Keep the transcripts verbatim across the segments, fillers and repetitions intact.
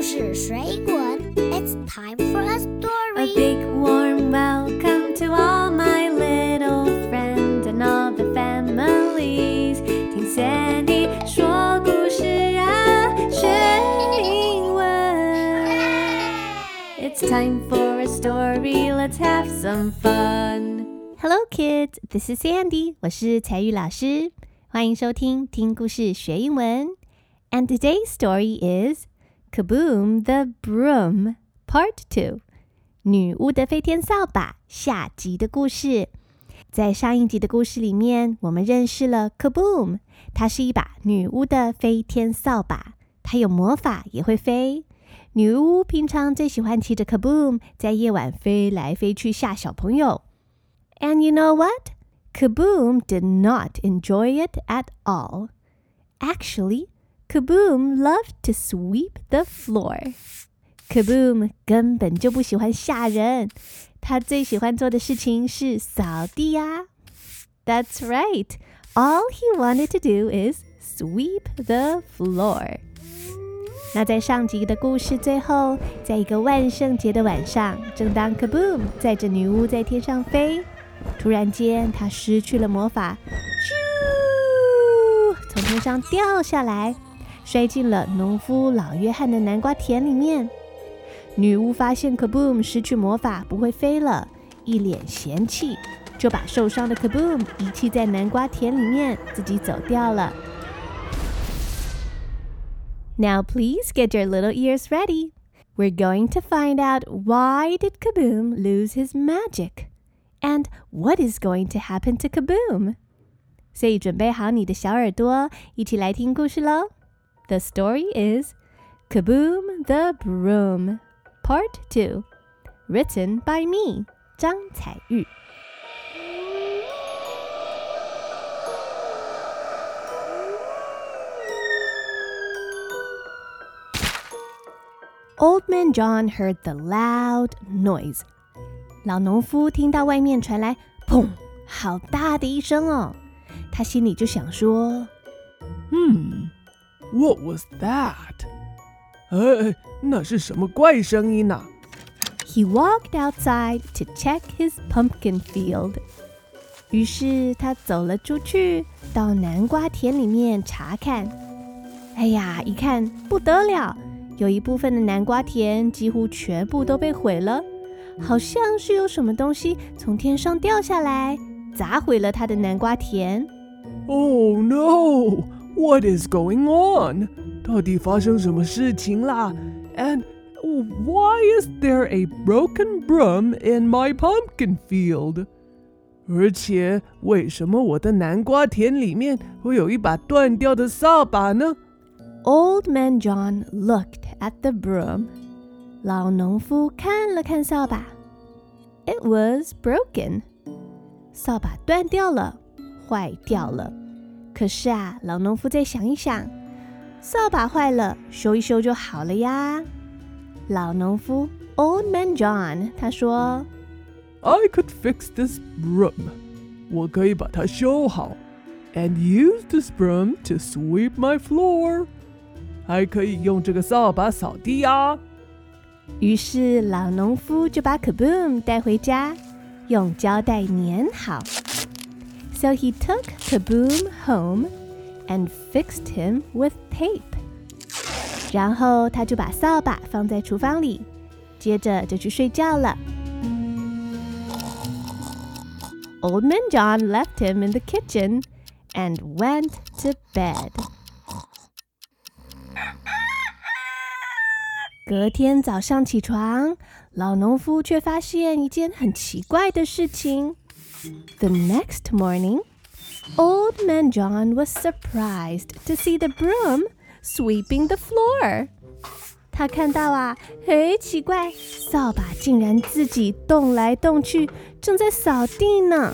事水滾 It's time for a story. A big warm welcome to all my little friends and all the families. 聽 Sandy 說故事啊，學英文。It's time for a story. Let's have some fun. Hello, kids. This is Sandy. 我是采玉老師，歡迎收聽聽故事學英文。And today's story is Kaboom the Broom, Part two. 女巫的飛天掃把下集的故事。在上一集的故事裡面，我們認識了 Kaboom， 它是一把女巫的飛天掃把，它有魔法，也會飛。女巫平常最喜歡騎着 Kaboom 在夜晚飛來飛去嚇小朋友。And you know what? Kaboom did not enjoy it at all. Actually, Kaboom loved to sweep the floor. Kaboom 根本就不喜歡嚇人，他最喜歡做的事情是掃地啊。That's right. All he wanted to do is sweep the floor. 那在上集的故事最後，在一個萬聖節的晚上，正當 Kaboom 載着女巫在天上飛，突然間他失去了魔法，啾，從天上掉下來，摔進了農夫老約翰的南瓜田裡面。女巫發現 Kaboom 失去魔法不會飛了，一臉嫌棄，就把受傷的 Kaboom 遺棄在南瓜田裡面，自己走掉了。Now please get your little ears ready. We're going to find out why did Kaboom lose his magic, and what is going to happen to Kaboom. 所以準備好你的小耳朵，一起來聽故事咯。The story is Kaboom the Broom, Part two, written by me, 張采玉。Old Man John heard the loud noise. 老農夫聽到外面傳來砰，好大的一聲哦，他心裡就想說 Hmm, what was that? 哎，那是什麼怪聲音啊？ He walked outside to check his pumpkin field. 於是他走了出去，到南瓜田裡面查看。哎呀，一看不得了，有一部分的南瓜田幾乎全部都被毀了，好像是有什麼東西從天上掉下來，砸毀了他的南瓜田。 Oh no! What is going on? 到底發生什麼事情啦？ And why is there a broken broom in my pumpkin field? 而且為什麼我的南瓜田裡面會有一把斷掉的掃把呢？ Old Man John looked at the broom. 老農夫看了看掃把。It was broken. 掃把斷掉了，壞掉了。可是啊，老農夫再想一想，掃把壞了，修一修就好了呀。老農夫 Old Man John 他說 I could fix this broom. 我可以把它修好 and use this broom to sweep my floor. 還可以用這個掃把掃地啊。 於是老農夫就把 Kaboom 帶回家，用膠帶粘好。So he took Kaboom home and fixed him with tape. 然後他就把掃把放在廚房裡，接着就去睡覺了。Old Man John left him in the kitchen and went to bed. 隔天早上起床，老農夫卻發現一件很奇怪的事情。The next morning, Old Man John was surprised to see the broom sweeping the floor. 他看到啊，嘿，奇怪，掃把竟然自己動來動去，正在掃地呢。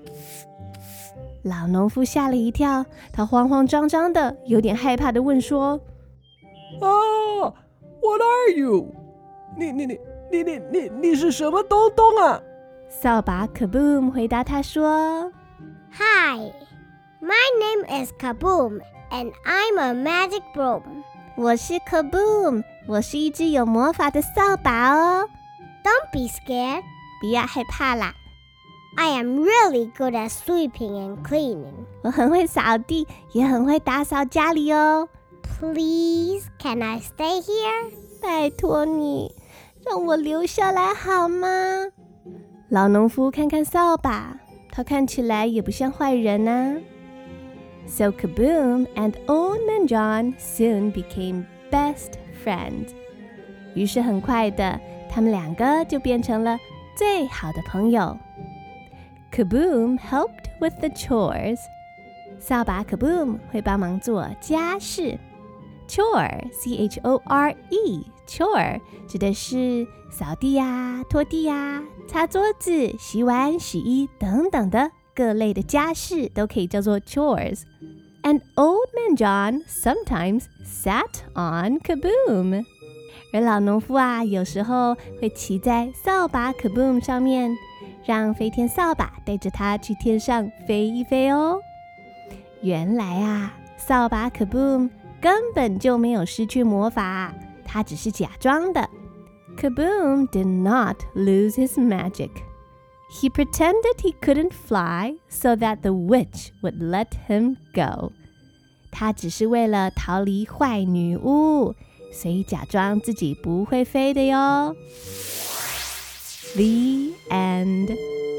老農夫嚇了一跳，他慌慌張張的，有點害怕的問說： 啊 What are you? 你你你你你你你是什麼東東啊？ 掃把 Kaboom 回答他說 Hi, my name is Kaboom and I'm a magic broom. 我是 Kaboom， 我是一只有魔法的掃把哦。 Don't be scared. 不要害怕啦。 I am really good at sweeping and cleaning. 我很會掃地，也很會打掃家裡哦。 Please, can I stay here? 拜託你，讓我留下來好嗎？老農夫看看掃把，他看起來也不像壞人啊。So Kaboom and Old Man John soon became best friends. 於是很快的，他們兩個就變成了最好的朋友。Kaboom helped with the chores. 掃把 Kaboom 會幫忙做家事。Chore, C H O R E, chore 指的是掃地呀、拖地呀、擦桌子、洗碗、洗衣等等的各類的家事都可以叫做 chores. And Old Man John sometimes sat on Kaboom. 而老農夫啊，有時候會騎在掃把 Kaboom 上面，讓飛天掃把帶着他去天上飛一飛哦。原來啊，掃把 Kaboom根本就沒有失去魔法，他只是假裝的。Kaboom did not lose his magic. He pretended he couldn't fly so that the witch would let him go. 他只是為了逃離壞女巫，所以假裝自己不會飛的喲。The end.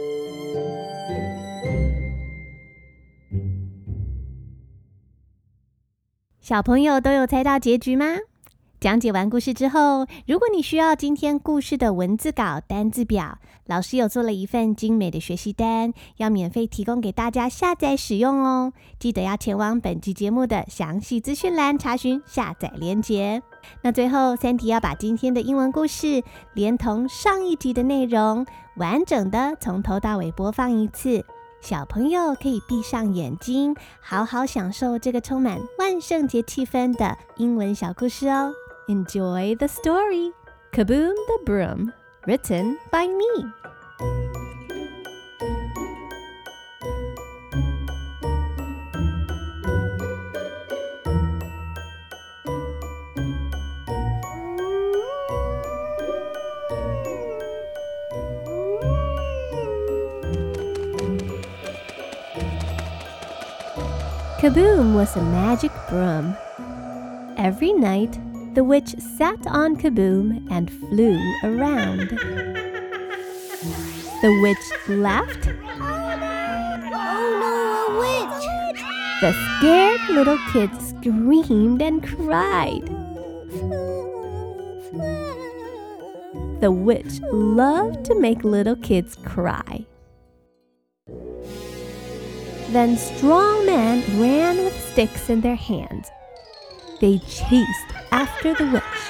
小朋友都有猜到結局嗎？講解完故事之後，如果你需要今天故事的文字稿、單字表，老師有做了一份精美的學習單，要免費提供給大家下載使用哦。記得要前往本集節目的詳細資訊欄查詢下載連結。那最後，Sandy要把今天的英文故事連同上一集的內容，完整的從頭到尾播放一次。小朋友可以閉上眼睛，好好享受這個充滿萬聖節氣氛的英文小故事哦。Enjoy the story. Kaboom the Broom, written by me. Kaboom was a magic broom. Every night, the witch sat on Kaboom and flew around. The witch laughed. Oh no, a witch! The scared little kids screamed and cried. The witch loved to make little kids cry. Then strong men ran with sticks in their hands. They chased after the witch.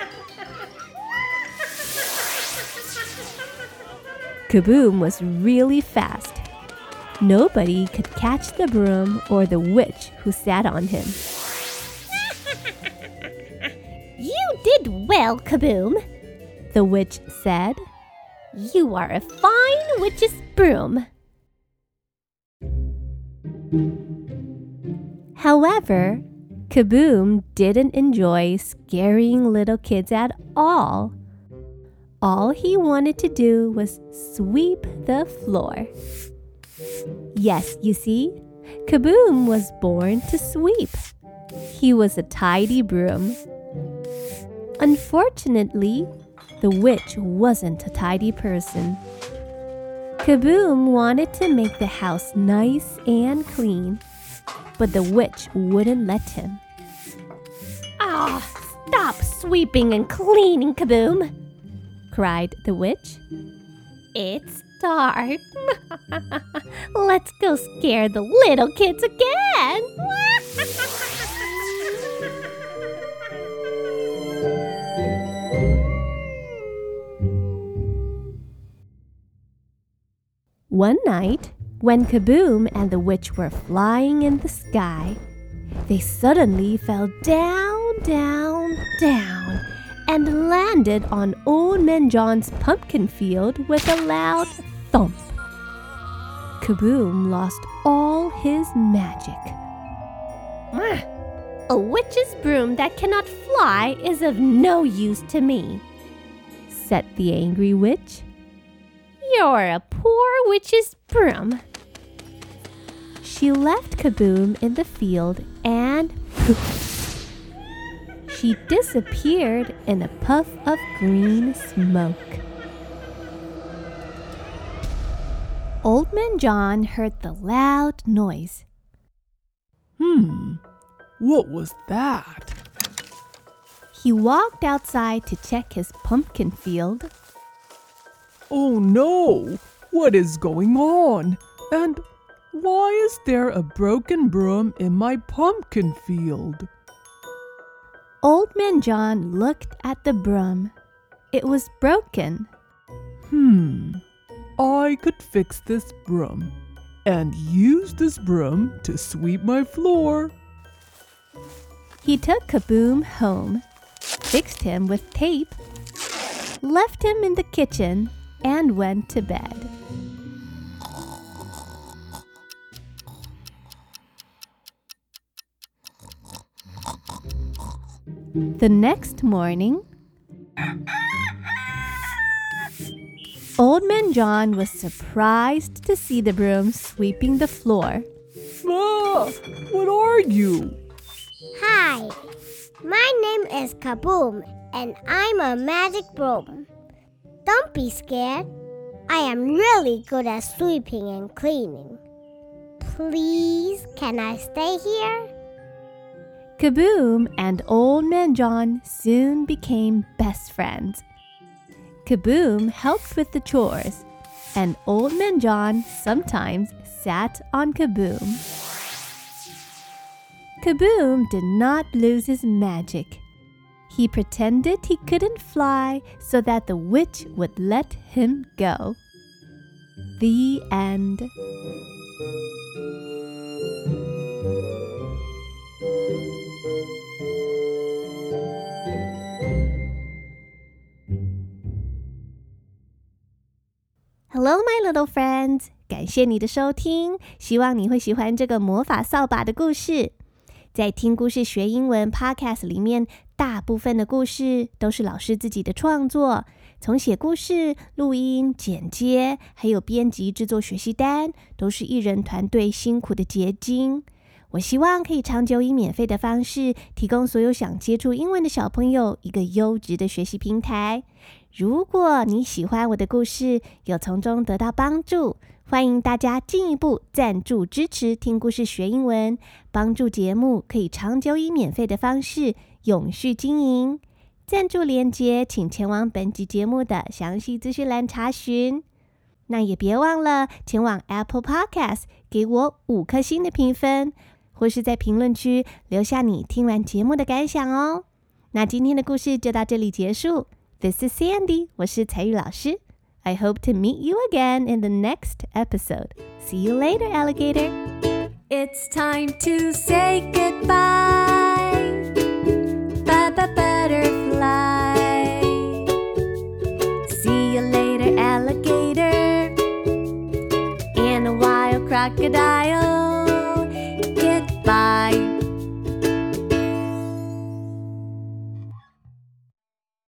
Kaboom was really fast. Nobody could catch the broom or the witch who sat on him. You did well, Kaboom, the witch said. You are a fine witch's broom. However, Kaboom didn't enjoy scaring little kids at all. All he wanted to do was sweep the floor. Yes, you see, Kaboom was born to sweep. He was a tidy broom. Unfortunately, the witch wasn't a tidy person. Kaboom wanted to make the house nice and clean, but the witch wouldn't let him. Ah, oh, stop sweeping and cleaning, Kaboom, cried the witch. It's dark. Let's go scare the little kids again. One night, when Kaboom and the witch were flying in the sky, they suddenly fell down, down, down, and landed on Old Man John's pumpkin field with a loud thump. Kaboom lost all his magic. A witch's broom that cannot fly is of no use to me, said the angry witch. You're a poor witch's broom. She left Kaboom in the field and poof, she disappeared in a puff of green smoke. Old Man John heard the loud noise. Hmm, what was that? He walked outside to check his pumpkin field. Oh no! What is going on? And why is there a broken broom in my pumpkin field? Old Man John looked at the broom. It was broken. Hmm, I could fix this broom and use this broom to sweep my floor. He took Kaboom home, fixed him with tape, left him in the kitchen, and went to bed. The next morning, Old Man John was surprised to see the broom sweeping the floor. Ah, what are you? Hi, my name is Kaboom, and I'm a magic broom. Don't be scared. I am really good at sweeping and cleaning. Please, can I stay here? Kaboom and Old Man John soon became best friends. Kaboom helped with the chores, and Old Man John sometimes sat on Kaboom. Kaboom did not lose his magic. He pretended he couldn't fly so that the witch would let him go. The end. Hello, my little friends! 感謝你的收聽，希望你會喜歡這個魔法掃把的故事。在聽故事學英文 Podcast 裡面，大部分的故事都是老師自己的創作，從寫故事、錄音、剪接，還有編輯製作學習單，都是藝人團隊辛苦的結晶。我希望可以長久以免費的方式，提供所有想接觸英文的小朋友一個優質的學習平台。如果你喜歡我的故事，有從中得到幫助，歡迎大家進一步贊助支持聽故事學英文，幫助節目可以長久以免費的方式永續經營。贊助連結請前往本集節目的詳細資訊欄查詢。那也別忘了前往 Apple Podcast 給我五顆星的評分，或是在評論區留下你聽完節目的感想哦。那今天的故事就到這裡結束。This is Sandy， 我是采玉老師。I hope to meet you again in the next episode. See you later, alligator. It's time to say goodbye. Bye-bye, butterfly. See you later, alligator. And a wild crocodile.